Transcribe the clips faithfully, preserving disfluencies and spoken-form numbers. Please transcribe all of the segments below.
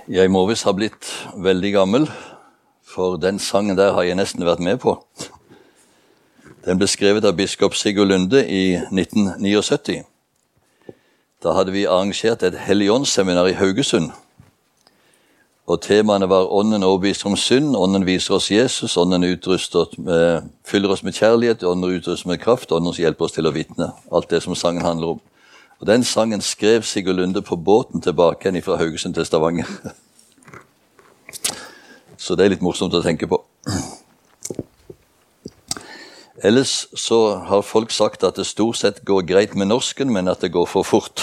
Jeg må visst ha blitt veldig gammel, for den sangen der har jeg nesten vært med på. Den ble skrevet av biskop Sigurd Lunde i nitten syttioni. Da hadde vi arrangert et Helligåndsseminar i Haugesund. Og temaene var ånden overbeviser om synd, ånden viser oss Jesus, ånden utruster med, fyller oss med kjærlighet, ånden utruster med kraft, ånden hjelper oss til å vitne. Alt det som sangen handler om. Og den sangen skrev Sigurd Lunde på båten tilbake igjen fra Haugesund til Stavanger. Så det er litt morsomt å tenke på. Ellers så har folk sagt at det stort sett går greit med norsken, men at det går for fort.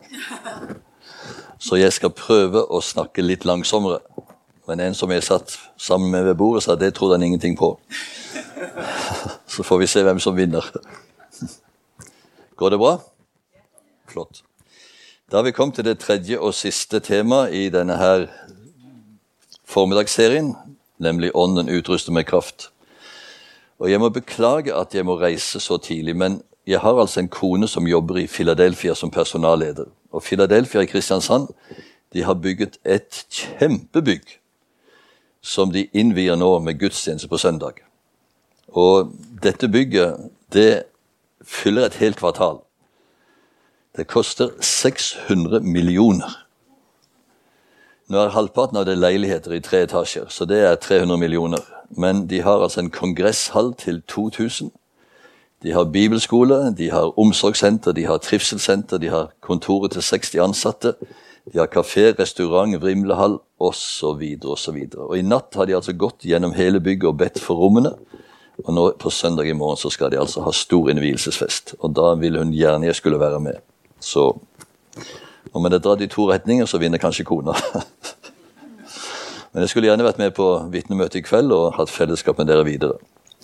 Så jeg skal prøve å snakke litt langsommere. Men en som jeg satt sammen med ved bordet sa, det trodde han ingenting på. Så får vi se hvem som vinner. Går det bra? Flott. Da har vi kommet til det tredje og siste tema i denne her formiddagsserien, nemlig ånden utruster med kraft. Og jeg må beklage at jeg må reise så tidlig, men jeg har altså en kone som jobber i Philadelphia som personalleder. Og Philadelphia i Kristiansand, de har bygget et kjempebygg som de innvier nå med gudstjeneste på søndag. Og dette bygget, det fyller et helt kvartal. Det koster seks hundre millioner. Nå er halvparten av det leiligheter i tre etasjer, så det er tre hundre millioner. Men de har altså en kongresshall til to tusen. De har bibelskole, de har omsorgssenter, de har trivselssenter, de har kontoret til seksti ansatte, de har kafé, restaurant, vrimlehall, og så videre, og så videre. Og i natt har de altså gått gjennom hele bygget og bedt for rommene, og nå på søndag i morgen så skal de altså ha stor innvielsesfest, og da vil hun gjerne jeg skulle være med. Så om det er dratt i to retninger, så vinner kanskje kona. Men jeg skulle gjerne vært med på vitnemøte i kveld og hatt fellesskap med dere videre.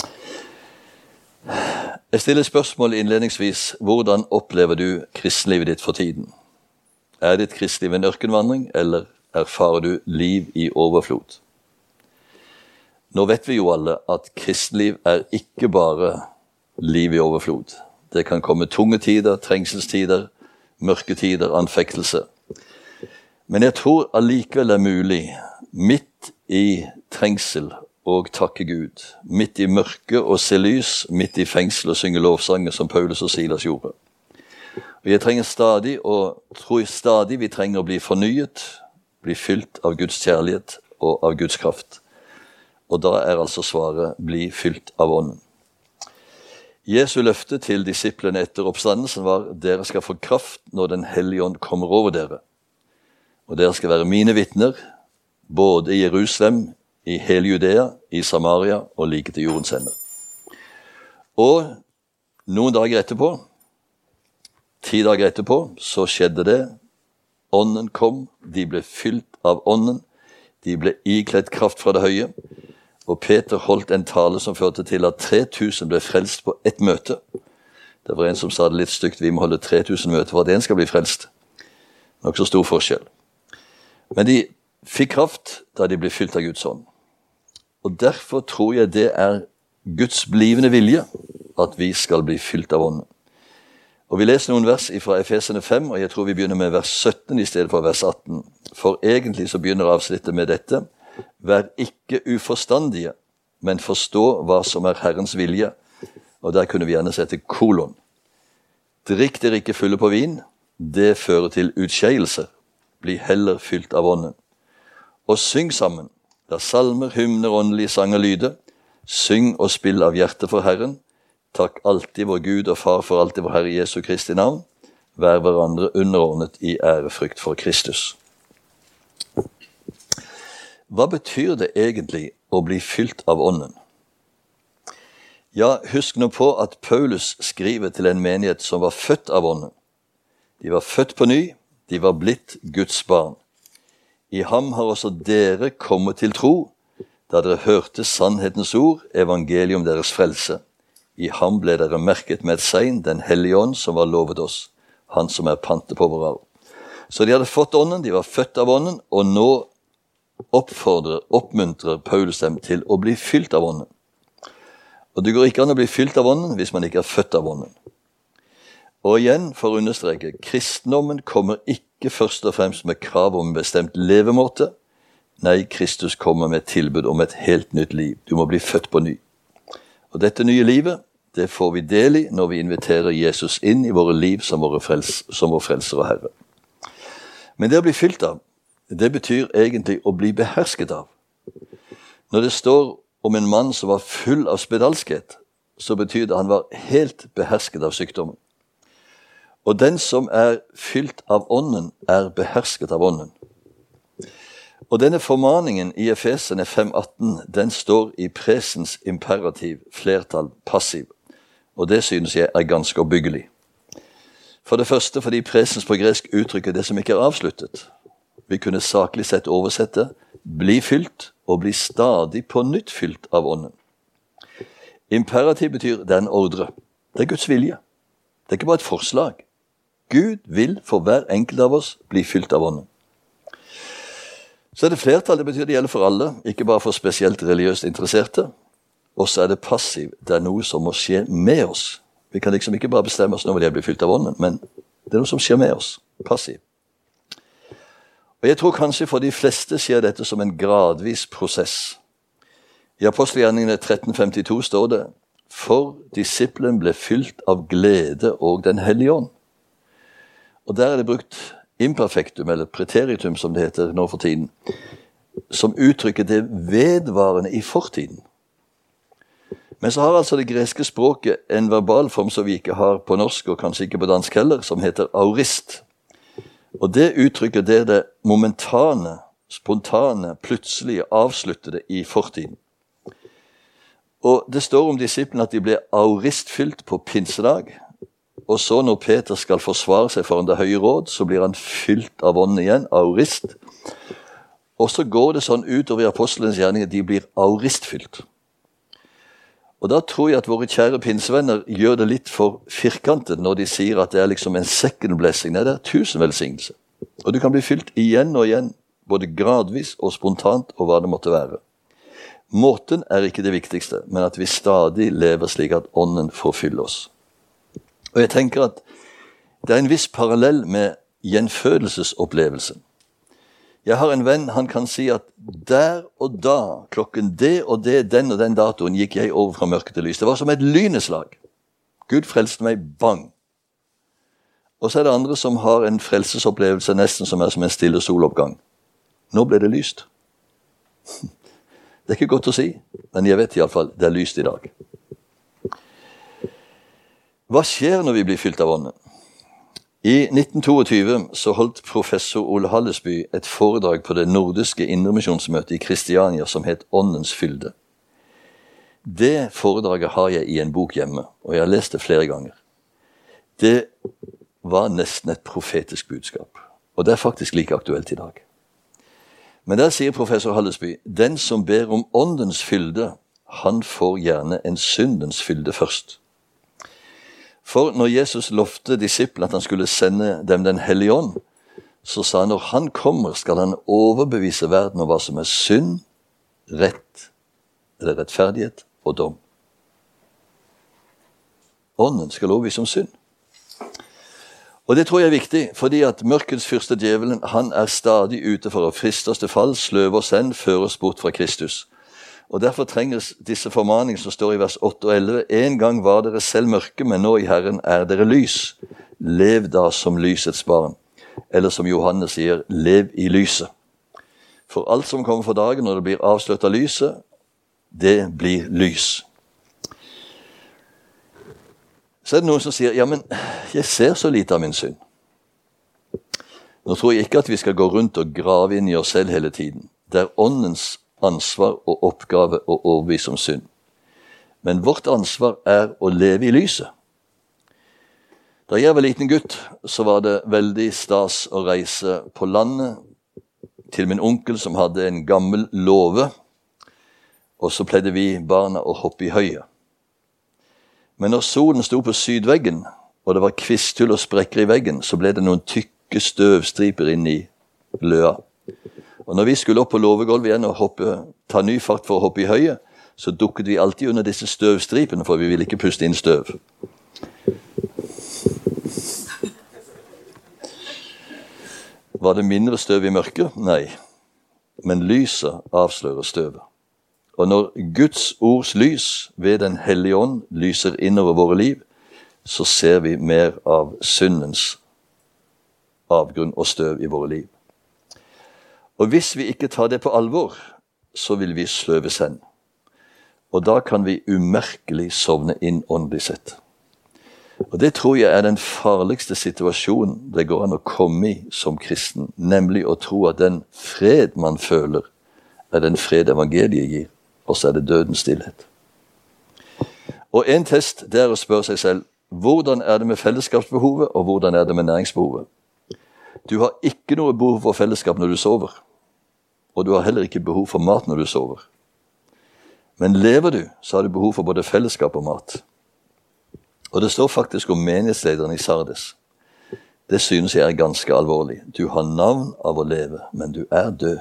Jeg stiller spørsmål innledningsvis. Hvordan opplever du kristenlivet ditt for tiden? Er ditt kristenliv en ørkenvandring, eller erfarer du liv i overflod? Nå vet vi jo alle at kristenliv er ikke bare liv i overflod. Det kan komme tunge tider, trengselstider, mørke tider, anfektelse. Men jeg tror allikevel det er mulig, midt i trengsel og takke Gud, midt i mørke og se lys, midt i fengsel og synge lovsanger som Paulus og Silas gjorde. Og jeg trenger stadig, og tror stadig vi trenger å bli fornyet, bli fylt av Guds kjærlighet og av Guds kraft. Og da er altså svaret, bli fylt av ånden. Jesu løfte til disiplene etter oppstandelsen var, dere skal få kraft når den hellige ånd kommer over dere. Og dere skal være mine vitner, både i Jerusalem, i hele Judea, i Samaria og like til jordens ende. Og noen dager etterpå, ti dager etterpå, så skjedde det. Ånden kom, de ble fylt av ånden, de ble ikledd kraft fra det høye, og Peter holdt en tale som førte til at tre tusen ble frelst på ett møte. Det var en som sa det litt stygt, vi må holde tre tusen møter for at en skal bli frelst. Nok så stor forskjell. Men de fikk kraft da de ble fylt av Guds ånd. Og derfor tror jeg det er Guds blivende vilje at vi skal bli fylt av ånden. Og vi leser noen vers fra Efesene fem, og jeg tror vi begynner med vers sytten i stedet for vers atten. For egentlig så begynner avsnittet med dette. Vær ikke uforstandige, men forstå hva som er Herrens vilje. Og der kunne vi gjerne sette kolon. Drikk dere ikke fulle på vin, det fører til utskeielse. Bli heller fylt av ånden. Og syng sammen, der salmer, hymner, åndelige sanger lyde. Syng og spill av hjertet for Herren. Takk alltid vår Gud og Far for alltid vår Herre Jesu Kristi navn. Vær hverandre underordnet i ærefrykt for Kristus. Hva betyr det egentlig å bli fylt av ånden? Ja, husk nå på at Paulus skriver til en menighet som var født av ånden. De var født på ny, de var blitt Guds barn. I ham har også dere kommet til tro, da dere hørte sannhetens ord, evangelium deres frelse. I ham ble dere merket med et segn, den hellige ånd som var lovet oss, han som er pante på vår arv. Så de hadde fått ånden, de var født av ånden, og nå oppfordrer, oppmuntrer Paulus dem til å bli fylt av ånden. Og det går ikke an å bli fylt av ånden hvis man ikke er født av ånden. Og igjen, for å understreke, kristendommen kommer ikke først og fremst med krav om en bestemt levemåte, Nei, Kristus kommer med et tilbud om et helt nytt liv. Du må bli født på ny. Og dette nye livet, det får vi del i når vi inviterer Jesus inn i våre liv som, våre frels, som vår frelser og Herre. Men det å bli fylt av, det betyr egentlig å bli behersket av. Når det står om en mann som var full av spedalskhet, så betyr det at han var helt behersket av sykdommen. Og den som er fylt av ånden, er behersket av ånden. Og denne formaningen i Efesene fem atten, den står i presens imperativ, flertall, passiv. Og det synes jeg er ganske oppbyggelig. For det første fordi presens på gresk uttrykker det som ikke er avsluttet. Vi kunne saklig sett oversette, bli fylt og bli stadig på nytt fylt av ånden. Imperativ betyr det er en ordre. Det er Guds vilje. Det er ikke bare et forslag. Gud vil for hver enkelt av oss bli fylt av ånden. Så er det flertall, det betyr det gjelder for alle, ikke bare for spesielt religiøst interesserte. Og så er det passiv, det er noe som må skje med oss. Vi kan liksom ikke bare bestemme oss når vi blir fylt av ånden, men det er noe som skjer med oss, passiv. Og jeg tror kanskje for de fleste skjer dette som en gradvis prosess. I Apostelgjerningene tretten femtito står det, for disippelen ble fylt av glede og den hellige ånd. Og der er det brukt imperfektum, eller preteritum som det heter nå for tiden, som uttrykker det vedvarende i fortiden. Men så har altså det greske språket en verbalform som vi ikke har på norsk, og kanskje ikke på dansk heller, som heter aurist. Og det uttrykker det det momentane, spontane, plutselige, avsluttede i fortiden. Og det står om disiplene at de ble auristfylt på pinsedag, og så når Peter skal forsvare seg foran det høye råd, så blir han fylt av ånden igjen, aurist. Og så går det sånn utover i apostelens gjerninger, de blir auristfylt. Og da tror jeg at våre kjære pinsevenner gjør det litt for firkantet når de sier at det er liksom en second blessing. Nei, det er tusen velsignelse. Og du kan bli fylt igjen og igjen, både gradvis og spontant, og hva det måtte være. Måten er ikke det viktigste, men at vi stadig lever slik at ånden får fylle oss. Og jeg tenker at det er en viss parallell med gjenfødelsesopplevelsen. Jeg har en venn, han kan si at der og da, klokken det og det, den og den datoen, gikk jeg over fra mørke til lys. Det var som et lyneslag. Gud frelste meg, bang. Og så er det andre som har en frelsesopplevelse nesten som er som en stille soloppgang. Nå ble det lyst. Det er ikke godt å si, men jeg vet i alle fall, det er lyst i dag. Hva skjer når vi blir fylt av ånden? I nitten tjueto så holdt professor Ole Hallesby et foredrag på det nordiske indremisjonsmøtet i Kristiania som het Åndens fylde. Det foredraget har jeg i en bok hjemme, og jeg har lest det flere ganger. Det var nesten et profetisk budskap, og det er faktisk like aktuelt i dag. Men der sier professor Hallesby, den som ber om åndens fylde, han får gjerne en syndens fylde først. For når Jesus lovte disiplene at han skulle sende dem den hellige ånd, så sa han når han kommer skal han overbevise verden om hva som er synd, rett, eller rettferdighet og dom. Ånden skal overbevise om synd. Og det tror jeg er viktig, fordi at mørkets fyrste djevelen, han er stadig ute for å friste oss til fall, sløve oss hen, føre oss bort fra Kristus. Og derfor trenges disse formaningene som står i vers åtte og elleve. En gang var dere selv mørke, men nå i Herren er dere lys. Lev da som lysets barn. Eller som Johannes sier, lev i lyset. For alt som kommer for dagen når det blir avslørt av lyset, det blir lys. Så er det noen som sier, ja, men jeg ser så lite av min synd. Nå tror jeg ikke at vi skal gå rundt og grave inn i oss selv hele tiden. Det er åndens ansvar og oppgave å overbevise om synd. Men vårt ansvar er å leve i lyset. Da jeg var liten gutt, så var det veldig stas å reise på landet til min onkel som hadde en gammel låve, og så pleide vi barna å hoppe i høyet. Men når solen sto på sydveggen, og det var kvisthull og sprekker i veggen, så ble det noen tykke støvstriper inn i løa. Og når vi skulle opp på låvegulvet igjen og hoppe, ta ny fart for å hoppe i høyet, så dukket vi alltid under disse støvstripene, for vi ville ikke puste inn støv. Var det mindre støv i mørket? Nei. men lyset avslører støvet. Og når Guds ords lys ved den hellige ånd lyser innover våre liv, så ser vi mer av syndens avgrunn og støv i våre liv. Og hvis vi ikke tar det på alvor, så vil vi sløves hen. Og da kan vi umerkelig sovne inn åndelig sett. Og det tror jeg er den farligste situasjonen det går an å komme i som kristen, nemlig å tro at den fred man føler er den fred evangeliet gir, og så er det dødens stillhet. Og en test det er å spørre seg selv, hvordan er det med fellesskapsbehovet, og hvordan er det med næringsbehovet? Du har ikke noe behov for fellesskap når du sover, og du har heller ikke behov for mat når du sover. Men lever du, så har du behov for både fellesskap og mat. Og det står faktisk om menighetslederen i Sardes. Det synes jeg er ganske alvorlig. Du har navn av å leve, men du er død.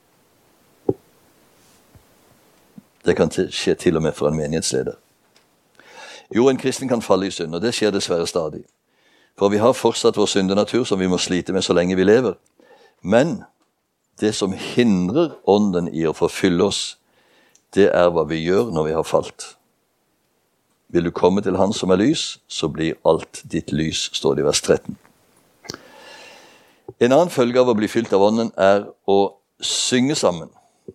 Det kan skje til og med for en menighetsleder. Jo, en kristen kan falle i synd, og det skjer dessverre stadig. For vi har fortsatt vår syndenatur som vi må slite med så lenge vi lever. Men det som hindrer ånden i å forfylle oss, det er hva vi gjør når vi har falt. Vil du komme til Han som er lys, så blir alt ditt lys, står det i vers tretten. En annen følge av å bli fylt av ånden er å synge sammen.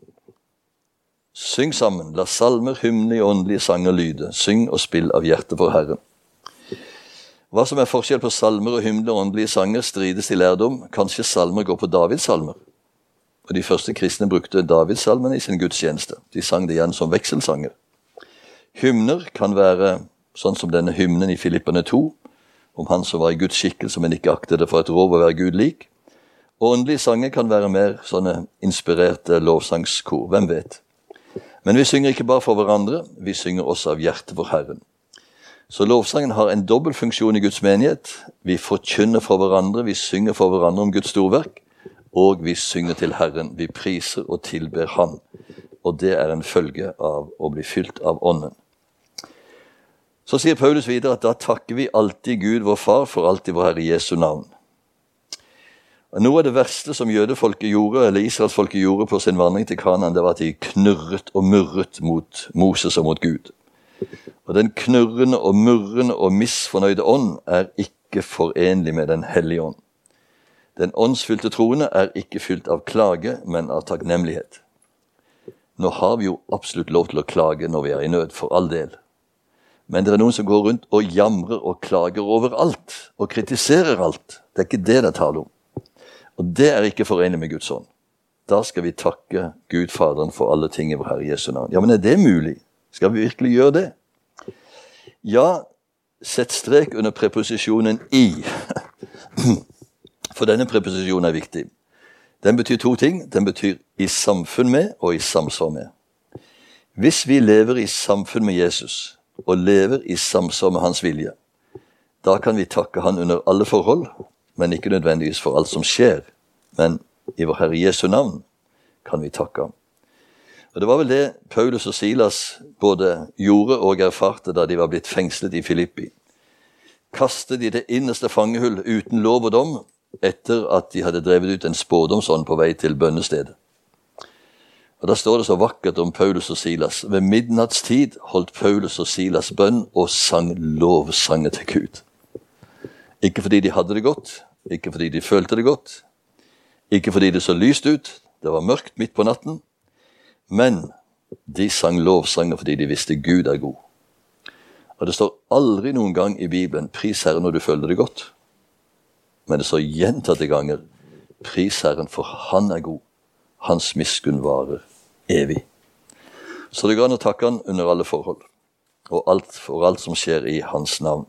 Syng sammen, la salmer, hymner og åndelige sanger lyde. Syng og spill av hjertet for Herren. Hva som er forskjell på salmer og hymner og åndelige sanger strides i lærdom. Kanskje salmer går på Davids salmer. Og de første kristne brukte Davids salmene i sin gudstjeneste. De sang det igjen som vekselsanger. Hymner kan være sånn som denne hymnen i Filipperne to, om han som var i Guds skikkelse, men ikke aktet det for et rov å være Gud lik. Og åndelige sanger kan være mer sånne inspirerte lovsangskor, hvem vet. Men vi synger ikke bare for hverandre, vi synger også av hjertet for Herren. Så lovsangen har en dobbel funksjon i Guds menighet. Vi forkynner for hverandre, vi synger for hverandre om Guds storverk, og vi synger til Herren, vi priser og tilber Han. Og det er en følge av å bli fylt av ånden. Så sier Paulus videre at da takker vi alltid Gud vår Far for alt i vår Herre Jesu navn. Og noe av det verste som jødefolket gjorde, eller israelsfolket gjorde på sin vandring til Kanaan, det var at de knurret og murret mot Moses og mot Gud. Og den knurrende og murrende og misfornøyde ånd er ikke forenlig med den hellige ånd. Den åndsfylte troende er ikke fylt av klage, men av takknemlighet. Nå har vi jo absolutt lov til å klage når vi er i nød, for all del. Men det er noen som går rundt og jamrer og klager over alt, og kritiserer alt. Det er ikke det det taler om. Og det er ikke forenlig med Guds ånd. Da skal vi takke Gud Faderen for alle ting i vår Herre Jesu navn. Ja, men er det mulig? Skal vi virkelig gjøre det? Ja, sett strek under preposisjonen i. For denne preposisjonen er viktig. Den betyr to ting. Den betyr i samfunn med og i samsvar med. Hvis vi lever i samfunn med Jesus, og lever i samsvar med hans vilje, da kan vi takke han under alle forhold, men ikke nødvendigvis for alt som skjer. Men i vår Herre Jesu navn kan vi takke ham. Og det var vel det Paulus og Silas både gjorde og erfarte da de var blitt fengslet i Filippi. Kastet de det innerste fangehull uten lov og dom, etter at de hadde drevet ut en spådomsånd på vei til bønnestedet. Og da står det så vakkert om Paulus og Silas. Ved midnattstid holdt Paulus og Silas bønn og sang lovsanger til Gud. Ikke fordi de hadde det godt, ikke fordi de følte det godt, ikke fordi det så lyst ut, det var mørkt midt på natten, men de sang lovsanger fordi de visste Gud er god. Og det står aldri noen gang i Bibelen, pris Herren når du føler det godt. Men det står gjentatte ganger, pris Herren for han er god. Hans miskunn varer evig. Så det går an å takke han under alle forhold, og alt for alt som skjer i hans navn.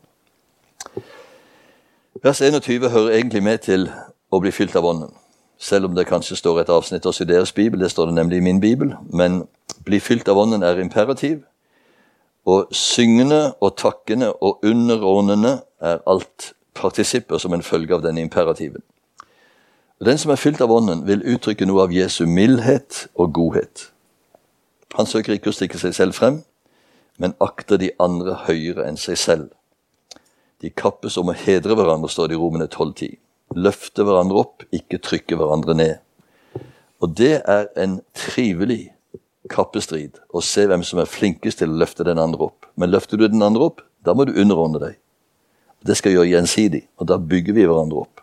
Vers enogtyve hører egentlig med til å bli fylt av ånden. Selv om det kanskje står et avsnitt også i deres bibel, det står det nemlig i min bibel, men bli fylt av ånden er imperativ, og syngende og takkende og underordnende er alt partisipper som en følge av denne imperativen. Den som er fylt av ånden vil uttrykke noe av Jesu mildhet og godhet. Han søker ikke å stikke seg selv frem, men akter de andre høyere enn seg selv. De kappes om å hedre hverandre, står det i Romerne tolv ti. Løfte hverandre opp, ikke trykke hverandre ned. Og det er en trivelig kappestrid å se hvem som er flinkest til å løfte den andre opp. Men løfter du den andre opp, da må du underordne deg. Det skal gjøre gjensidig, og da bygger vi hverandre opp.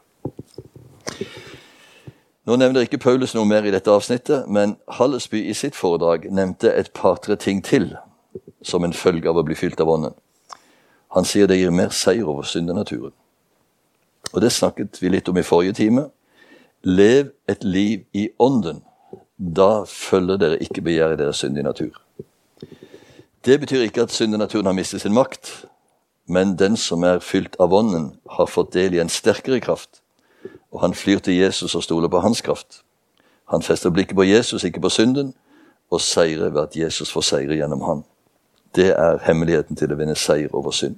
Nå nevner ikke Paulus noe mer i dette avsnittet, men Hallesby i sitt foredrag nevnte et par-tre ting til som en følge av å bli fylt av ånden. Han sier det gir mer seier over syndenaturen. Og det snakket vi litt om i forrige time. Lev et liv i ånden. Da følger dere ikke begjæret deres syndige natur. Det betyr ikke at syndenaturen har mistet sin makt, men den som er fylt av ånden har fått del i en sterkere kraft, og han flyr til Jesus og stoler på hans kraft. Han fester blikket på Jesus, ikke på synden, og seirer ved at Jesus får seire gjennom han. Det er hemmeligheten til å vinne seier over synd.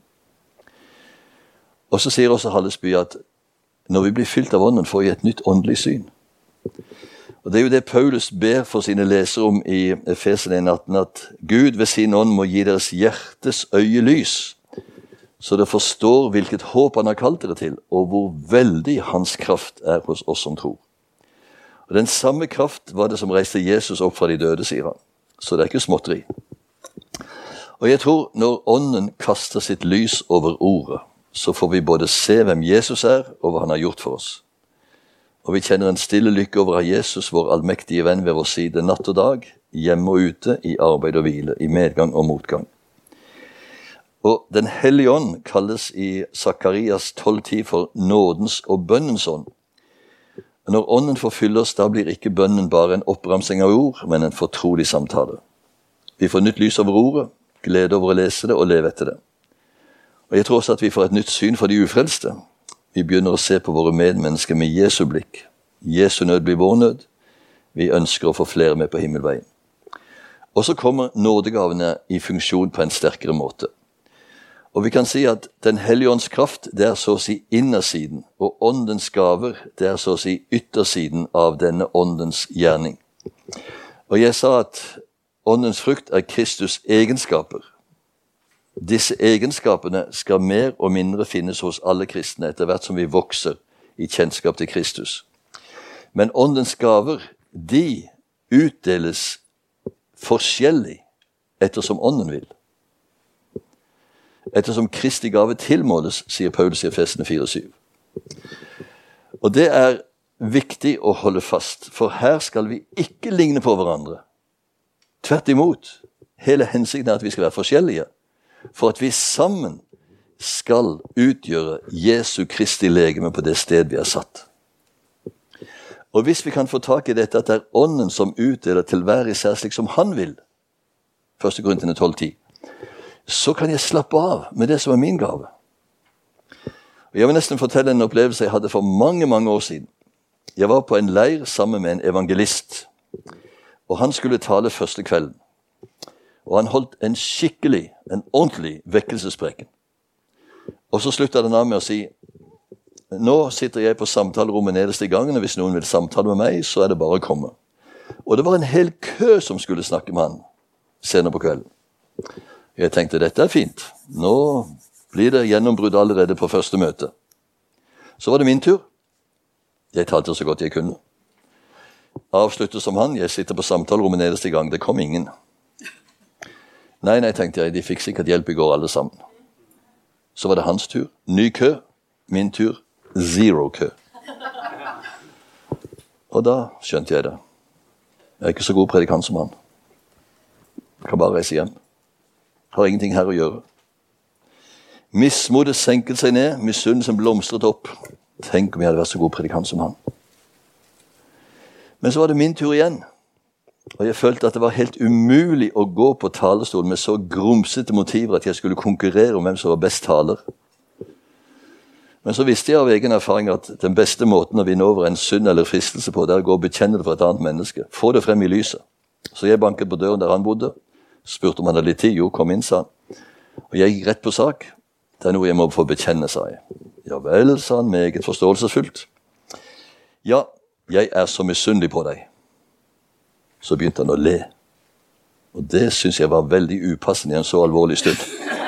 Og så sier også Hallesby at når vi blir fylt av ånden, får vi et nytt åndelig syn. Og det er jo det Paulus ber for sine lesere om i Efeserne en atten, at Gud ved sin ånd må gi deres hjertes øye lys, så dere forstår hvilket håp han har kalt dere til, og hvor veldig hans kraft er hos oss som tror. Og den samme kraft var det som reiste Jesus opp fra de døde, sier han. Så det er ikke småtteri. Og jeg tror når ånden kaster sitt lys over ordet, så får vi både se hvem Jesus er, og hva han har gjort for oss. Og vi kjenner en stille lykke over å ha Jesus, vår allmektige venn ved vår side, natt og dag, hjemme og ute, i arbeid og hvile, i medgang og motgang. Og Den hellige ånd kalles i Sakarias tolv ti for nådens og bønnens ånd. Når ånden forfyller oss, da blir ikke bønnen bare en oppramsing av ord, men en fortrolig samtale. Vi får nytt lys over ordet, glede over å lese det og leve etter det. Og jeg tror også at vi får et nytt syn for de ufrelste. Vi begynner å se på våre medmennesker med Jesu blikk. Jesu nød blir vår nød. Vi ønsker å få flere med på himmelveien. Og så kommer nådegavene i funksjon på en sterkere måte. Og vi kan si at Den hellige ånds kraft, det er så å si innersiden, og åndens gaver, det er så å si yttersiden av denne åndens gjerning. Og jeg sa at åndens frukt er Kristus egenskaper. Disse egenskapene skal mer og mindre finnes hos alle kristne etter hvert som vi vokser i kjennskap til Kristus. Men åndens gaver, de utdeles forskjellig ettersom ånden vil. Ettersom Kristi gave tilmåles, sier Paulus i Efesene fire syv. Og det er viktig å holde fast, for her skal vi ikke ligne på hverandre. Tvert imot, hele hensikten er at vi skal være forskjellige, for at vi sammen skal utgjøre Jesu Kristi legeme på det sted vi er satt. Og hvis vi kan få tak i dette, at det er ånden som utdeler til hver især slik som han vil, første Korinterne tolv ti, så kan jeg slappe av med det som er min gave. Og jeg vil nesten fortelle en opplevelse jeg hadde for mange, mange år siden. Jeg var på en leir sammen med en evangelist, og han skulle tale første kvelden. Og han holdt en skikkelig, en ordentlig vekkelsespreken. Og så sluttet han av med å si, nå sitter jeg på samtalerommet nederst i gangen, og hvis noen vil samtale med meg, så er det bare å komme. Og det var en hel kø som skulle snakke med han senere på kvelden. Jeg tenkte, dette er fint. Nå blir det gjennombrudd allerede på første møte. Så var det min tur. Jeg talte så godt jeg kunne. Avsluttet som han, jeg sitter på samtalerommet nederst i gang, det kom ingen. Nei, nei, tenkte jeg, de fikk sikkert hjelp i går alle sammen. Så var det hans tur. Ny kø. Min tur. Zero kø. Og da skjønte jeg det. Jeg er ikke så god predikant som han. Jeg kan bare reise hjem. Har ingenting her å gjøre. Mismodet senket seg ned, misunnelsen blomstret opp. Tenk om jeg hadde vært så god predikant som han. Men så var det min tur igjen. Og jeg følte at det var helt umulig å gå på talerstolen med så grumsete motiver at jeg skulle konkurrere om hvem som var best taler. Men så visste jeg av egen erfaring at den beste måten å vinne over en synd eller fristelse på, det er å gå og bekjenne det for et annet menneske. Få det frem i lyset. Så jeg banket på døren der han bodde, spurte om han hadde litt tid. Jo, kom inn, sa han. Og jeg gikk rett på sak. Det er noe jeg må få bekjenne, sa jeg. Ja vel, sa han, meget forståelsesfullt. Ja, jeg er så misunnelig på deg. Så begynte han å le. Og det synes jeg var veldig upassende i en så alvorlig stund.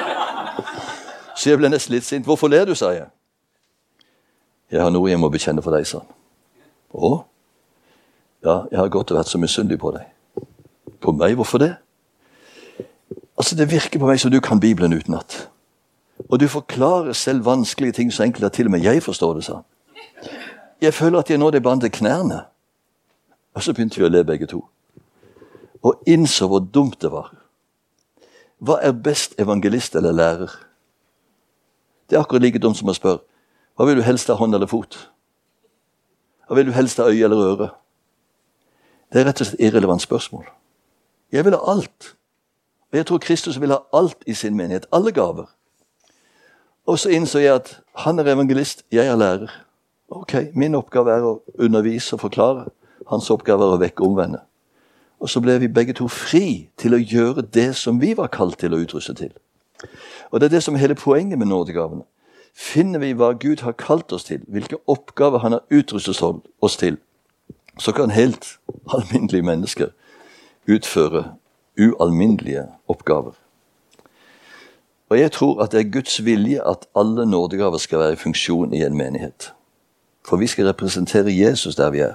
Så jeg ble nesten litt sint. Hvorfor ler du, sa jeg. Jeg har noe jeg må bekjenne for deg, sa han. Å? Ja, jeg har gått og vært så misunnelig på deg. På meg, hvorfor det? Altså, det virker på meg som du kan Bibelen utenat. Og du forklarer selv vanskelige ting så enkelt at til og med jeg forstår det, sa han. Jeg føler at jeg nå det bandt til knærne. Og så begynte vi å le begge to. Og innså hvor dumt det var. Hva er best, evangelist eller lærer? Det er akkurat like dumt som å spørre, hva vil du helst ha, hånd eller fot? Hva vil du helst ha, øye eller øre? Det er rett og slett irrelevant spørsmål. Jeg vil ha alt. Og jeg tror Kristus vil ha alt i sin menighet, alle gaver. Og så innså jeg at han er evangelist, jeg er lærer. Ok, min oppgave er å undervise og forklare. Hans oppgave er å vekke omvende. Og så ble vi begge to fri til å gjøre det som vi var kalt til å utruste til. Og det er det som er hele poenget med nådegavene. Finner vi hva Gud har kalt oss til, hvilke oppgaver han har utrustet oss til, så kan helt alminnelige mennesker utføre ualminnelige oppgaver. Og jeg tror at det er Guds vilje at alle nådegaver skal være i funksjon i en menighet. For vi skal representere Jesus der vi er.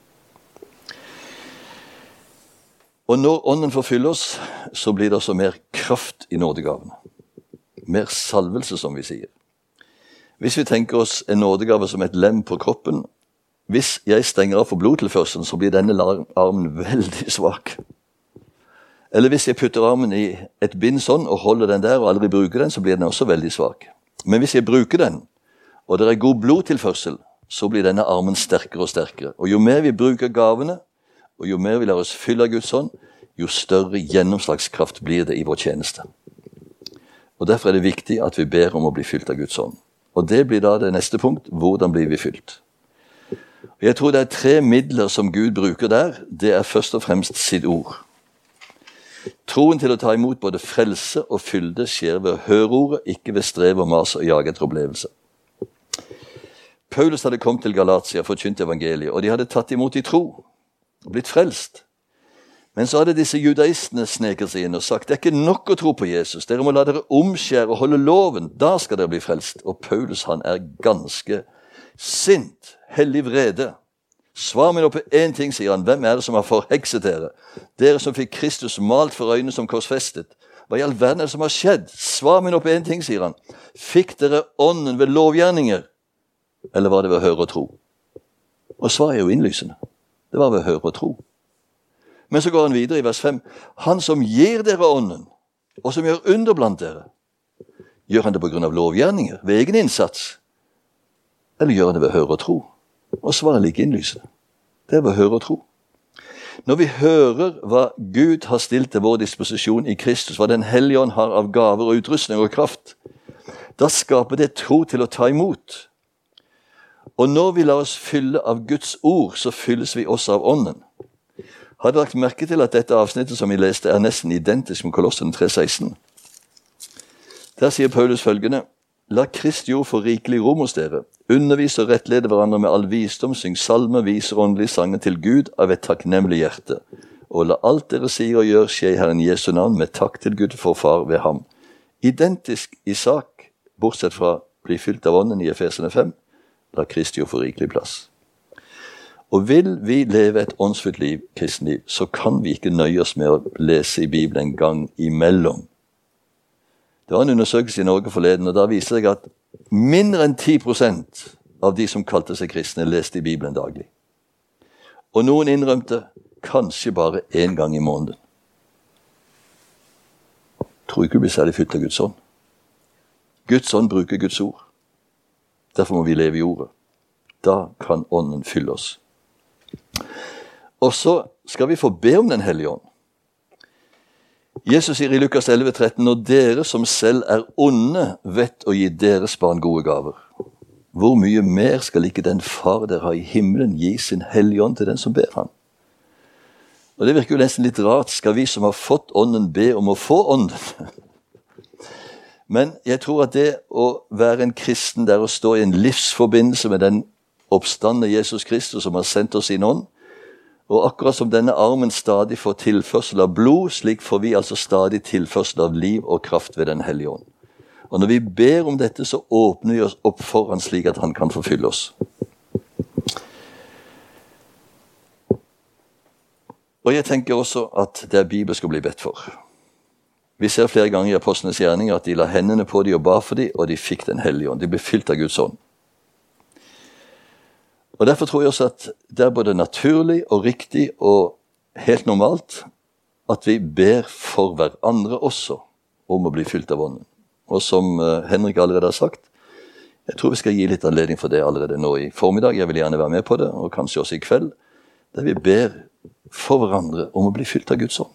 Og når ånden forfyller oss, så blir det også mer kraft i nådegavene. Mer salvelse, som vi sier. Hvis vi tenker oss en nådegave som et lem på kroppen, hvis jeg stenger av for blodtilførselen, så blir denne armen veldig svak. Eller hvis jeg putter armen i et bind sånn og holder den der og aldri bruker den, så blir den også veldig svak. Men hvis jeg bruker den, og det er god blodtilførsel, så blir denne armen sterkere og sterkere. Og jo mer vi bruker gavene, og jo mer vi lar oss fylle av Guds ånd, jo større gjennomslagskraft blir det i vår tjeneste. Og derfor er det viktig at vi ber om å bli fylt av Guds ånd. Og det blir da det neste punkt. Hvordan blir vi fylt? Og jeg tror det er tre midler som Gud bruker der. Det er først og fremst sitt ord. Troen til å ta imot både frelse og fylde skjer ved å høre ordet, ikke ved strev og mas og jage etter opplevelse. Paulus hadde kommet til Galatia, forkynt evangeliet, og de hadde tatt imot i tro og blitt frelst. Men så hadde disse judaistene sneket seg inn og sagt, det er ikke nok å tro på Jesus, dere må la dere omskjære og holde loven, da skal dere bli frelst. Og Paulus, han er ganske sint, hellig vrede. Svar meg nå på en ting, sier han, hvem er det som har forhekset dere? Dere som fikk Kristus malt for øynene som korsfestet. Hva i all verden er det som har skjedd? Svar meg nå på en ting, sier han. Fikk dere ånden ved lovgjerninger? Eller var det ved å høre og tro? Og svaret er jo innlysende. Det var ved å høre og tro. Men så går han videre i vers fem. Han som gir dere ånden, og som gjør under blant dere, gjør han det på grunn av lovgjerninger, ved egen innsats? Eller gjør han det ved å høre og tro? Og svaret er like innlysende. Det er ved å høre og tro. Når vi hører hva Gud har stilt til vår disposisjon i Kristus, hva den hellige ånd har av gaver og utrustning og kraft, da skaper det tro til å ta imot. Og når vi lar oss fylle av Guds ord, så fylles vi også av ånden. Har dere lagt merke til at dette avsnittet som vi leste er nesten identisk med Kolossene tre seksten? Der sier Paulus følgende, la Kristi ord få rikelig rom hos dere, undervise og rettlede hverandre med all visdom, syng salmer, viser åndelige sanger til Gud av et takknemlig hjerte, og la alt dere sier og gjør skje i Herren Jesu navn med takk til Gud for far ved ham. Identisk i sak, bortsett fra bli fylt av ånden i Efesene fem, la Kristi ord få rikelig plass. Og vil vi leve et åndsfullt liv, kristenliv, så kan vi ikke nøye oss med å lese i Bibelen en gang imellom. Det var en undersøkelse i Norge forleden, og da viser jeg at mindre enn ti prosent av de som kalte seg kristne leste i Bibelen daglig. Og noen innrømte kanskje bare en gang i måneden. Tror ikke du blir særlig fylt av Guds ånd. Guds ånd bruker Guds ord. Derfor må vi leve i ordet. Da kan ånden fylle oss. Og så skal vi få be om den hellige ånd. Jesus sier i Lukas elleve tretten, når dere som selv er onde vet å gi deres barn gode gaver, hvor mye mer skal ikke den far dere har i himmelen gi sin hellige ånd til den som ber han? Og det virker jo nesten litt rart, skal vi som har fått ånden be om å få ånden? Men jeg tror at det å være en kristen der å stå i en livsforbindelse med den oppstandende Jesus Kristus som har sendt oss sin ånd, og akkurat som denne armen stadig får tilførsel av blod, slik får vi altså stadig tilførsel av liv og kraft ved den hellige ånd. Og når vi ber om dette, så åpner vi oss opp for han slik at han kan forfylle oss. Og jeg tenker også at det er Bibelen skal bli bedt for. Vi ser flere ganger i apostlenes gjerninger at de la hendene på dem og ba for dem, og de fikk den hellige ånd. De ble fylt av Guds ånd. Og derfor tror jeg også at det er både naturlig og riktig og helt normalt at vi ber for hverandre også om å bli fylt av ånden. Og som Henrik allerede har sagt, jeg tror vi skal gi litt anledning for det allerede nå i formiddag. Jeg vil gjerne være med på det, og kanskje også i kveld, der vi ber for hverandre om å bli fylt av Guds ånd.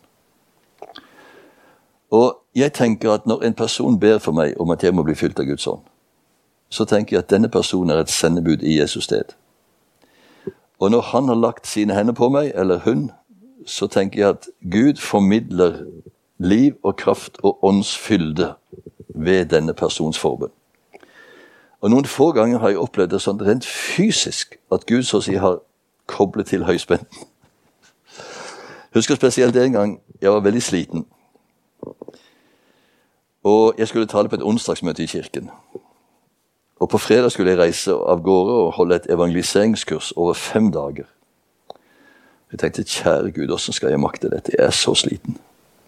Og jeg tenker at når en person ber for meg om at jeg må bli fylt av Guds ånd, så tenker jeg at denne personen er et sendebud i Jesus sted. Og når han har lagt sine hender på meg, eller hun, så tenker jeg at Gud formidler liv og kraft og åndsfylde ved denne persons forbønn. Og noen få ganger har jeg opplevd det sånn rent fysisk, at Gud så å si har koblet til høyspenten. Husker spesielt en gang jeg var veldig sliten. Og jeg skulle tale på et onsdagsmøte i kirken. Og på fredag skulle jeg reise av gårde og holde et evangeliseringskurs over fem dager. Jeg tenkte, kjære Gud, hvordan skal jeg makte dette? Jeg er så sliten.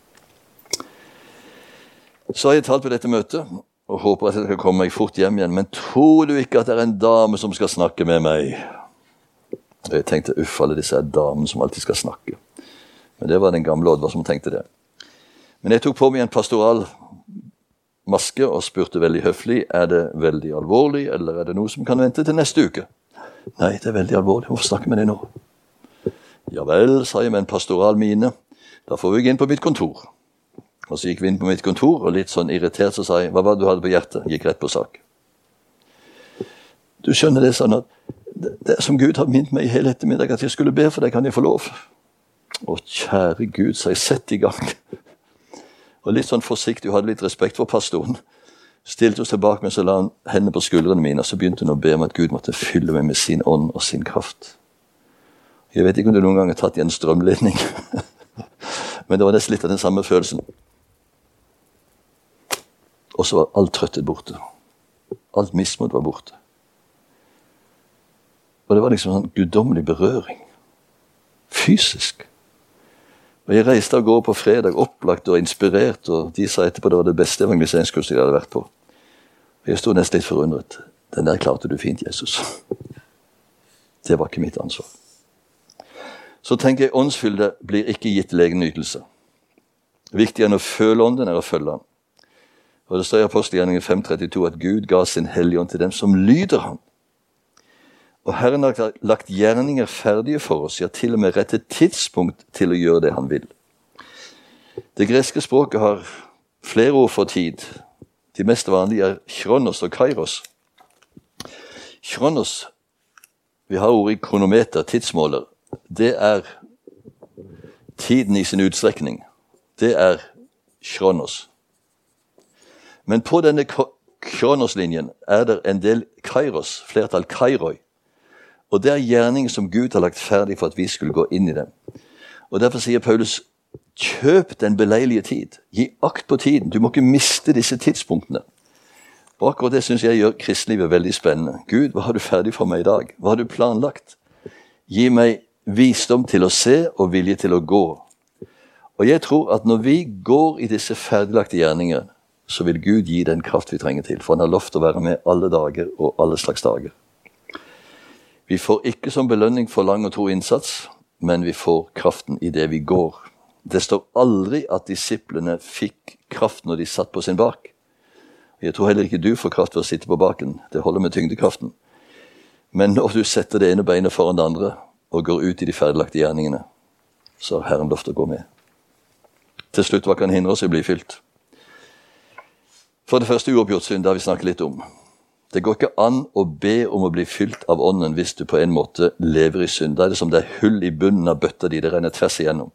Så har jeg talt på dette møtet, og håper at jeg skal komme meg fort hjem igjen. Men tror du ikke at det er en dame som skal snakke med meg? Og jeg tenkte, uff, alle disse er damen som alltid skal snakke. Men det var den gamle Oddvar som tenkte det. Men jeg tok på meg en pastoral maske og spurte veldig høflig, er det veldig alvorlig, eller er det noe som kan vente til neste uke? Nei, det er veldig alvorlig. Hvorfor snakke med deg nå? Ja vel, sa jeg med en pastoral mine. Da får vi inn på mitt kontor. Og så gikk vi inn på mitt kontor, og litt sånn irritert så sa jeg, hva var det du hadde på hjertet? Gikk rett på sak. Du skjønner det sånn at det, det er som Gud har minnet meg i hele ettermiddag at jeg skulle be for deg, kan jeg få lov? Å, kjære Gud, så jeg sett i gang. Og litt sånn forsiktig, hun hadde litt respekt for pastoren. Stilte oss tilbake, men så la han hendene på skuldrene mine, og så begynte hun å be om at Gud måtte fylle meg med sin ånd og sin kraft. Jeg vet ikke om du noen gang har tatt i en strømledning, men det var nesten litt av den samme følelsen. Og så var alt trøttet borte. Alt mismot var borte. Og det var liksom sånn guddommelig berøring. Fysisk. Og jeg reiste av gårde på fredag, opplagt og inspirert, og de sa etterpå det var det beste evangeliseringskurset jeg hadde vært på. Og jeg stod nesten litt forundret. Den der klarte du fint, Jesus. Det var ikke mitt ansvar. Så tenker jeg, åndsfylde blir ikke gitt til egen nytelse. Viktigere enn å føle ånden er å følge han. Og det står i Apostelgjerningen fem trettito at Gud ga sin hellige ånd til dem som lyder han. Og Herren har lagt gjerninger ferdige for oss, ja til og med rett et tidspunkt til å gjøre det han vil. Det greske språket har flere ord for tid. De mest vanlige er kronos og kairos. Kronos, vi har ordet i kronometer, tidsmåler. Det er tiden i sin utstrekning. Det er kronos. Men på denne kronoslinjen er det en del kairos, flertall kairoi. Og det er gjerninger som Gud har lagt ferdig for at vi skulle gå inn i dem. Og derfor sier Paulus, kjøp den beleilige tid. Gi akt på tiden. Du må ikke miste disse tidspunktene. Og akkurat det synes jeg gjør kristlivet veldig spennende. Gud, hva har du ferdig for meg i dag? Hva har du planlagt? Gi meg visdom til å se og vilje til å gå. Og jeg tror at når vi går i disse ferdiglagte gjerninger, så vil Gud gi den kraft vi trenger til. For han har lovt å være med alle dager og alle slags dager. Vi får ikke som belønning for lang og tro innsats, men vi får kraften i det vi går. Det står aldri at disiplene fikk kraft når de satt på sin bak. Jeg tror heller ikke du får kraft ved å sitte på baken. Det holder med tyngdekraften. Men når du setter det ene beinet foran det andre og går ut i de ferdiglagte gjerningene, så har Herren lovt å gå med. Til slutt, hva kan hindre oss i å bli fylt? For det første uoppgjort synd, det har vi snakket litt om. Det går ikke an å be om å bli fylt av ånden hvis du på en måte lever i synd. Da er det som det er hull i bunnen av bøtta di, det renner tvers igjennom.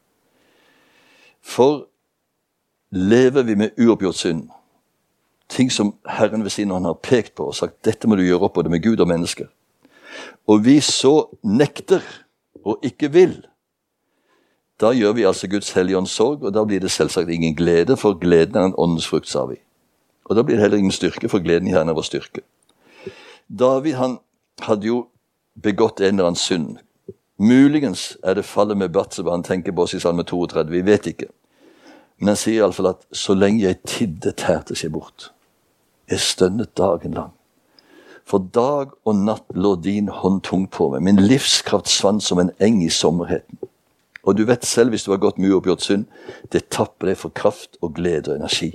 For lever vi med uoppgjort synd, ting som Herren ved sin hånd har pekt på og sagt, dette må du gjøre opp både med Gud og mennesker, og vi så nekter og ikke vil, da gjør vi altså Guds hellige ånds sorg, og da blir det selvsagt ingen glede, for gleden er en åndens frukt, sa vi. Og da blir det heller ingen styrke, for gleden i Herren er vår styrke. David, han hadde jo begått en eller annen synd. Muligens er det fallet med Batseba han tenker på oss i salme trettito, vi vet ikke. Men han sier i alle fall at så lenge jeg tidde tærte seg bort. Jeg stønnet dagen lang. For dag og natt lå din hånd tung på meg. Min livskraft svant som en eng i sommerheten. Og du vet selv, hvis du har gått mye oppgjort synd, det tapper deg for kraft og glede og energi.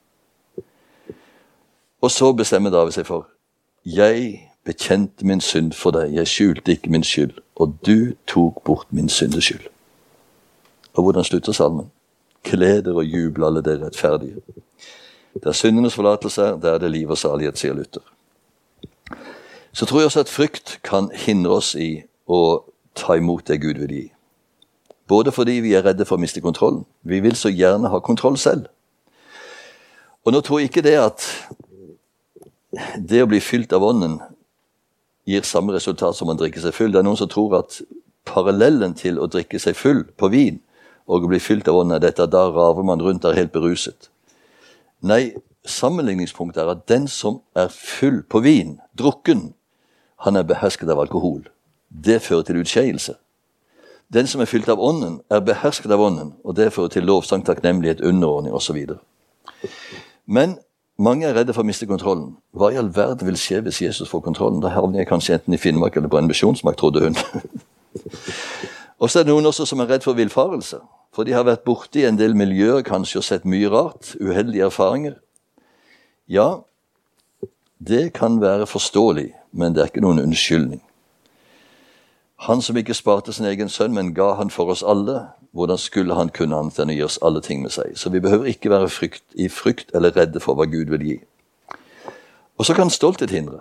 Og så bestemmer David seg for, jeg bekjente min synd for deg, jeg skjulte ikke min skyld, og du tok bort min syndeskyld. Og hvordan slutter salmen? Gleder og jubel alle dere rettferdige. Der syndenes forlatelse er, der er det liv og salighet, sier Luther. Så tror jeg også at frykt kan hindre oss i å ta imot det Gud vil gi. Både fordi vi er redde for å miste kontrollen. Vi vil så gjerne ha kontroll selv. Og nå tror jeg ikke det at det å bli fylt av ånden gir samme resultat som å drikke seg full. Det er noen som tror at parallellen til å drikke seg full på vin og å bli fylt av ånden er dette, da raver man rundt der helt beruset. Nei, sammenligningspunktet er at den som er full på vin, drukken, han er behersket av alkohol. Det fører til utskeielse. Den som er fylt av ånden, er behersket av ånden, og det fører til lovsang, takknemlighet, underordning og så videre. Men mange er redde for å miste kontrollen. Hva i all verden vil skje hvis Jesus får kontrollen? Da havner jeg kanskje enten i Finnmark eller på en misjonsmark, trodde hun. Og så er det noen også som er redd for villfarelse. For de har vært borte i en del miljøer, kanskje, og sett mye rart, uheldige erfaringer. Ja, det kan være forståelig, men det er ikke noen unnskyldning. Han som ikke sparte sin egen sønn, men ga han for oss alle, hvordan skulle han kunne annet enn å gi oss alle ting med seg? Så vi behøver ikke være frykt, i frykt eller redde for hva Gud vil gi. Og så kan stolthet hindre.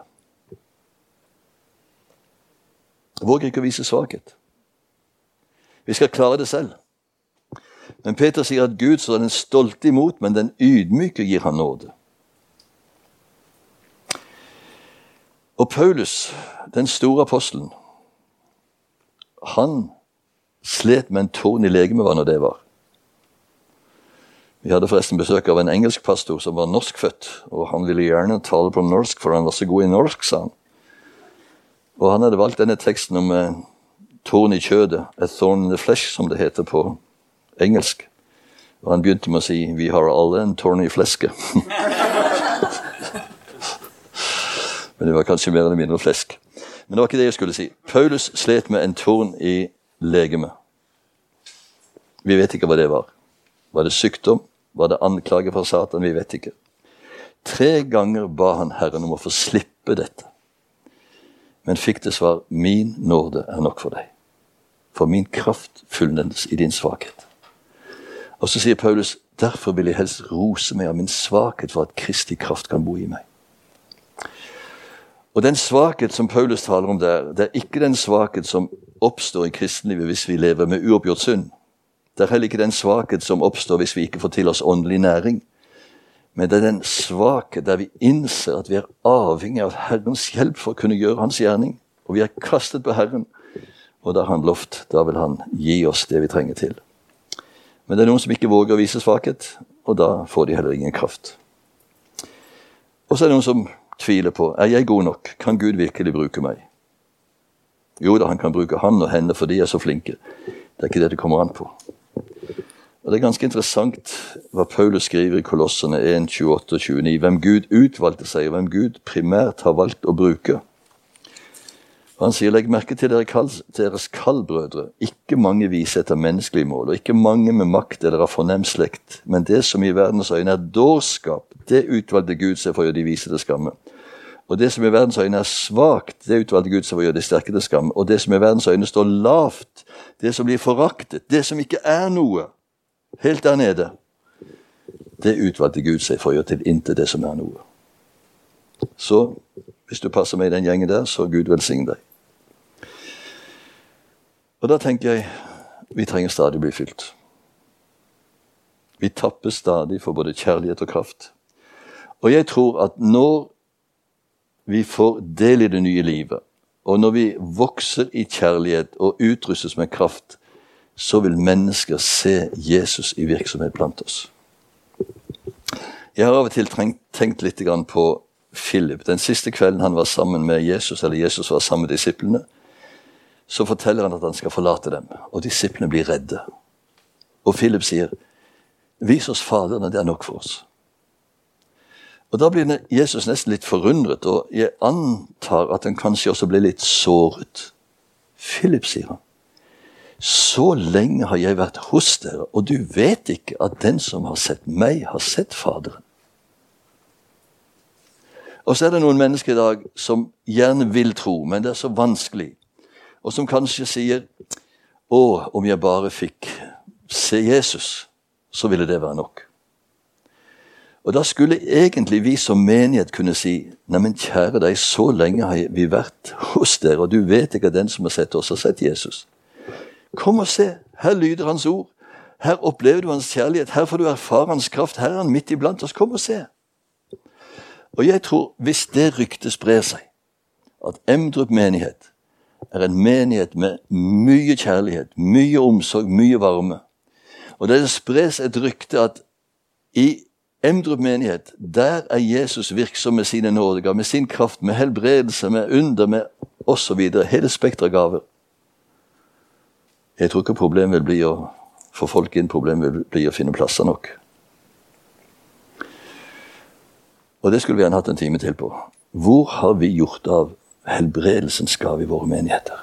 Våger ikke å vise svakhet. Vi skal klare det selv. Men Peter sier at Gud så er den stolte imot, men den ydmyke gir han nåde. Og Paulus, den store apostelen, han slet med en torn i legemet, hva når det var. Vi hadde forresten besøk av en engelsk pastor som var norskfødt, og han ville gjerne tale på norsk, for han var så god i norsk, sa han. Og han hadde valgt denne teksten om eh, torn i kjødet, a thorn in the flesh, som det heter på engelsk. Og han begynte med å si, vi har alle en torn i fleske. Men det var kanskje mer eller mindre flesk. Men det var ikke det jeg skulle si. Paulus slet med en torn i legeme. Vi vet ikke hva det var. Var det sykdom? Var det anklage fra Satan? Vi vet ikke. Tre ganger ba han Herren om å få slippe dette. Men fikk det svar, min nåde er nok for deg. For min kraft fullnendes i din svakhet. Og så sier Paulus, derfor vil jeg helst rose meg av min svakhet for at Kristi kraft kan bo i meg. Og den svakhet som Paulus taler om der, det er ikke den svakhet som oppstår i kristenlivet hvis vi lever med uoppgjort synd. Det er heller ikke den svakhet som oppstår hvis vi ikke får til oss åndelig næring. Men det er den svakhet der vi innser at vi er avhengig av Herrens hjelp for å kunne gjøre hans gjerning. Og vi er kastet på Herren, og da har han lovt, da vil han gi oss det vi trenger til. Men det er noen som ikke våger å vise svakhet, og da får de heller ingen kraft. Og så er det noen som tviler på, er jeg god nok? Kan Gud virkelig bruke meg? Jo da, han kan bruke han og henne, for de er så flinke. Det er ikke det det kommer an på. Og det er ganske interessant hva Paulus skriver i Kolossene en, tjueåtte og tjueni, hvem Gud utvalgte seg, og hvem Gud primært har valgt å bruke. Og han sier, legg merke til dere kall, deres kallbrødre, ikke mange vise etter menneskelige mål, og ikke mange med makt eller av fornem slekt, men det som i verdens øyne er dårskap, det utvalgte Gud seg for å gjøre de vise til skamme. Og det som i verdens øyne er svagt, det utvalgte Gud seg for å gjøre de sterke til skamme. Og det som i verdens øyne står lavt, det som blir foraktet, det som ikke er noe, helt der nede, det utvalgte Gud seg for å gjøre til intet det som er noe. Så hvis du passer med i den gjengen der, så Gud velsigne deg. Og da tenker jeg, vi trenger stadig bli fylt. Vi tapper stadig for både kjærlighet og kraft. Og jeg tror at når vi får del i det nye livet, og når vi vokser i kjærlighet og utrustes med kraft, så vil mennesker se Jesus i virksomhet blant oss. Jeg har av og til tenkt, tenkt litt grann på Philip. Den siste kvelden han var sammen med Jesus, eller Jesus var sammen med disiplene, så forteller han at han skal forlate dem, og disiplene blir redde. Og Philip sier, vis oss Faderen, det er nok for oss. Og da blir Jesus nesten litt forundret, og jeg antar at han kanskje også blir litt såret. Philip, sier han, så lenge har jeg vært hos dere, og du vet ikke at den som har sett meg, har sett Faderen. Og så er det noen mennesker i dag som gjerne vil tro, men det er så vanskelig. Og som kanskje sier, å, om jeg bare fikk se Jesus, så ville det være nok. Og da skulle egentlig vi som menighet kunne si, nei, men kjære deg, så lenge har vi vært hos dere, og du vet ikke at den som har sett oss har sett Jesus. Kom og se, her lyder hans ord, her opplever du hans kjærlighet, her får du erfare hans kraft, her er han midt iblant oss, kom og se. Og jeg tror, hvis det ryktet sprer seg, at Emdrup menighet er en menighet med mye kjærlighet, mye omsorg, mye varme, og det spres et rykte at i Emdrup menighet, der er Jesus virksom med sine nådegaver, med sin kraft, med helbredelse, med under, med og så videre, hele spektret av gaver. Jeg tror ikke problemet vil bli å få folk inn, problemet vil bli å finne plasser nok. Og det skulle vi gjerne hatt en time til på. Hvor har vi gjort av helbredelsens gave i våre menigheter?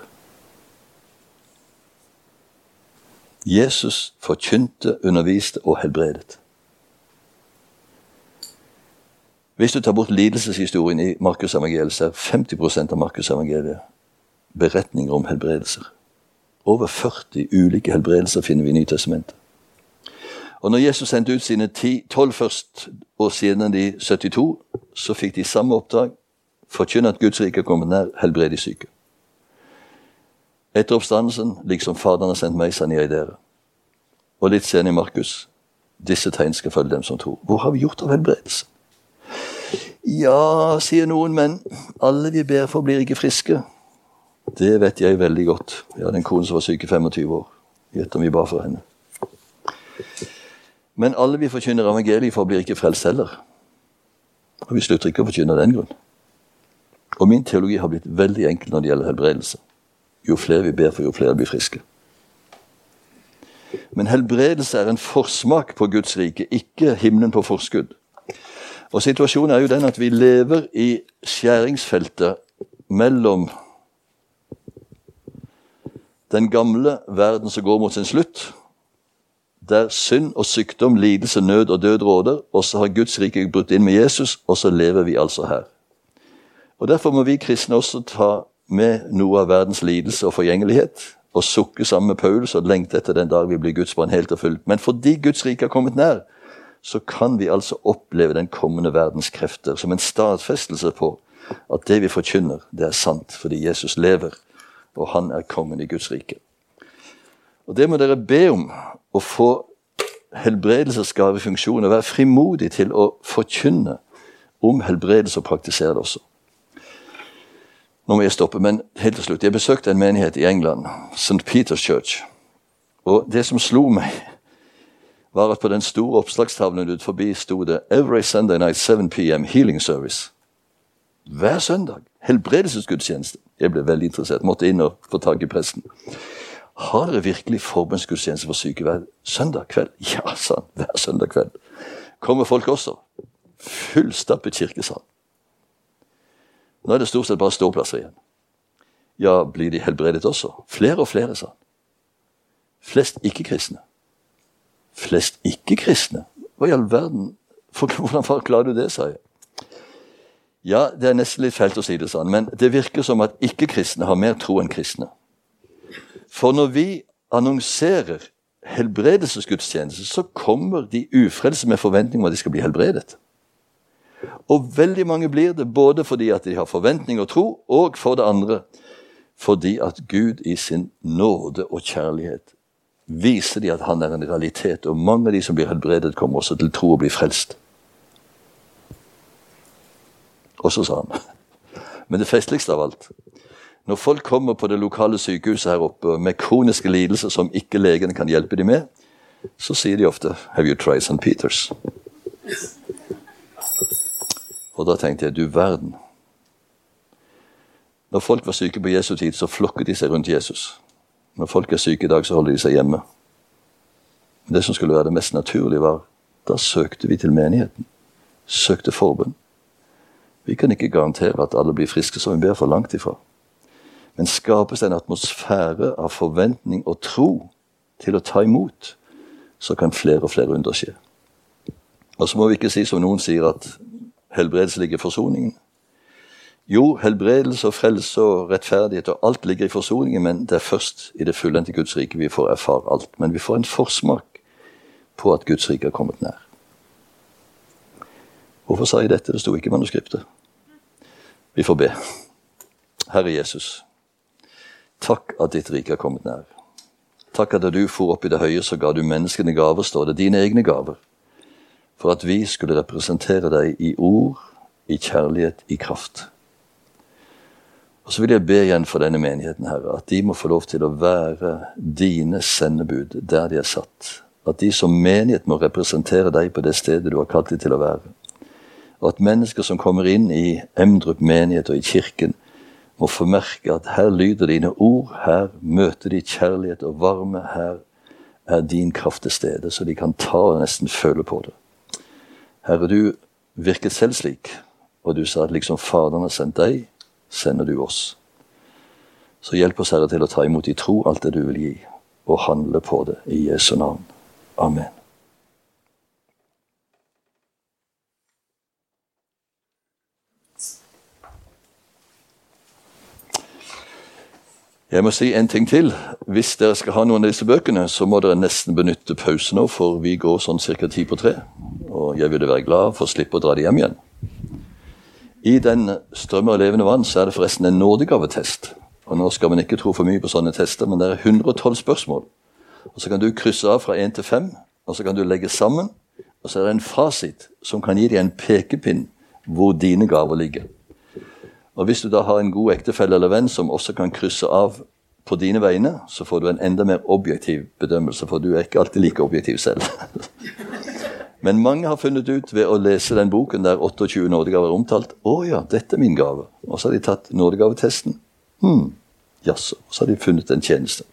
Jesus forkynte, underviste og helbredet. Hvis du tar bort lidelseshistorien i Markus evangeliet, så er femti prosent av Markus evangeliet beretninger om helbredelser. Over førti ulike helbredelser finner vi i Nytestamentet. Og når Jesus sendte ut sine ti, tolv først, og siden de syttito, så fikk de samme oppdrag, forkynne at Guds rike er kommet nær, helbrede syke. Etter oppstandelsen, liksom Faderen har sendt meg, sender jeg dere. Og litt senere i Markus, disse tegn skal følge dem som tror. Hvor har vi gjort av helbredelse? Ja, sier noen, men alle vi ber for blir ikke friske. Det vet jeg veldig godt. Jeg hadde en kone som var syk i femogtyve år. Gjett om vi ba for henne. Men alle vi forkynner evangeliet for blir ikke frelst heller. Og vi slutter ikke å forkynne den grunn. Og min teologi har blitt veldig enkel når det gjelder helbredelse. Jo flere vi ber for, jo flere blir friske. Men helbredelse er en forsmak på Guds rike, ikke himmelen på forskudd. Og situasjonen er jo den at vi lever i skjæringsfeltet mellom den gamle verden som går mot sin slutt, der synd og sykdom, lidelse, nød og død råder, og så har Guds rike brutt inn med Jesus, og så lever vi altså her. Og derfor må vi kristne også ta med noe av verdens lidelse og forgjengelighet, og sukke sammen med Paulus og lengte etter den dag vi blir Guds barn helt og fullt. Men fordi Guds rike har kommet nær, så kan vi altså oppleve den kommende verdens krefter som en stadfestelse på at det vi forkynner, det er sant, fordi Jesus lever, og han er kongen i Guds rike. Og det må dere be om, å få helbredelsesgavefunksjoner, være frimodig til å forkynne om helbredelse og praktisere det også. Nå må jeg stoppe, men helt til slutt. Jeg besøkte en menighet i England, Saint Peter's Church, og det som slo meg var at på den store oppslagstavlen ut forbi stod det Every Sunday night seven p m healing service. Hver søndag. Helbredelsesgudstjeneste. Jeg ble veldig interessert. Måtte inn og få tak i presten. Har dere virkelig forbønnsgudstjeneste for syke hver søndag kveld? Ja, sa han. Hver søndag kveld. Kommer folk også? Fullstappet kirkesal. Nå er det stort sett bare ståplasser igjen. Ja, blir de helbredet også? Flere og flere, sa han. Flest ikke-kristne. Flest ikke-kristne? Hva i all verden? For, hvordan forklarer du det, sa jeg. Ja, det er nesten litt feilt å si det, sa han, men det virker som at ikke-kristne har mer tro enn kristne. For når vi annonserer helbredelsesgudstjeneste, så kommer de ufrelse med forventning om at de skal bli helbredet. Og veldig mange blir det, både fordi at de har forventning og tro, og for det andre, fordi at Gud i sin nåde og kjærlighet viser de at han er en realitet, og mange av de som blir helbredet kommer også til tro og blir frelst. Og så sa han, men det festligste av alt, når folk kommer på det lokale sykehuset her oppe med kroniske lidelser som ikke legene kan hjelpe dem med, så sier de ofte, have you tried Saint Peter's? Og da tenkte jeg, du verden. Når folk var syke på Jesu tid, så flokket de seg rundt Jesus. Når folk er syke i dag, så holder de seg hjemme. Men det som skulle være det mest naturlige var, da søkte vi til menigheten. Søkte forbønn. Vi kan ikke garantere at alle blir friske, som vi ber for langt ifra. Men skapes en atmosfære av forventning og tro til å ta imot, så kan flere og flere under skje. Og så må vi ikke si som noen sier at helbredelse ligger i forsoningen. Jo, helbredelse og frelse og rettferdighet og alt ligger i forsoningen, men det er først i det fullendte Guds rike vi får erfare alt. Men vi får en forsmak på at Guds rike er kommet nær. Hvorfor sa jeg dette? Det sto ikke i manuskriptet. Vi får be. Herre Jesus, takk at ditt rike er kommet nær. Takk at da du for opp i det høye, så ga du menneskene gaver, står det, dine egne gaver, for at vi skulle representere deg i ord, i kjærlighet, i kraft. Og så vil jeg be igjen for denne menigheten, Herre, at de må få lov til å være dine sendebud der de er satt. At de som menighet må representere deg på det stedet du har kalt dem til å være. Og at mennesker som kommer inn i Emdrup menighet og i kirken, må få merke at her lyder dine ord, her møter de kjærlighet og varme, her er din kraft til stede, så de kan ta og nesten føle på det. Herre, du virket selv slik, og du sa at liksom Faderen har sendt deg, sender du oss. Så hjelp oss, Herre, til å ta imot i tro alt det du vil gi, og handle på det i Jesu navn. Amen. Jeg må si en ting til. Hvis dere skal ha noen av disse bøkene, så må dere nesten benytte pause nå, for vi går sånn cirka ti på tre. Og jeg ville være glad for å slippe å dra det hjem igjen. I den strømmer av levende vann så er det forresten en nådegavetest. Og nå skal man ikke tro for mye på sånne tester, men det er hundre og tolv spørsmål. Og så kan du krysse av fra en til fem, og så kan du legge sammen, og så er det en fasit som kan gi deg en pekepinn hvor dine gaver ligger. Og hvis du da har en god ektefelle eller venn som også kan krysse av på dine vegne, så får du en enda mer objektiv bedømmelse, for du er ikke alltid like objektiv selv. Men mange har funnet ut ved å lese den boken der otteogtjue nådegaver er omtalt, å ja, dette er min gave. Og så har de tatt nådegavetesten. Hmm, jaså. Og så har de funnet en tjeneste.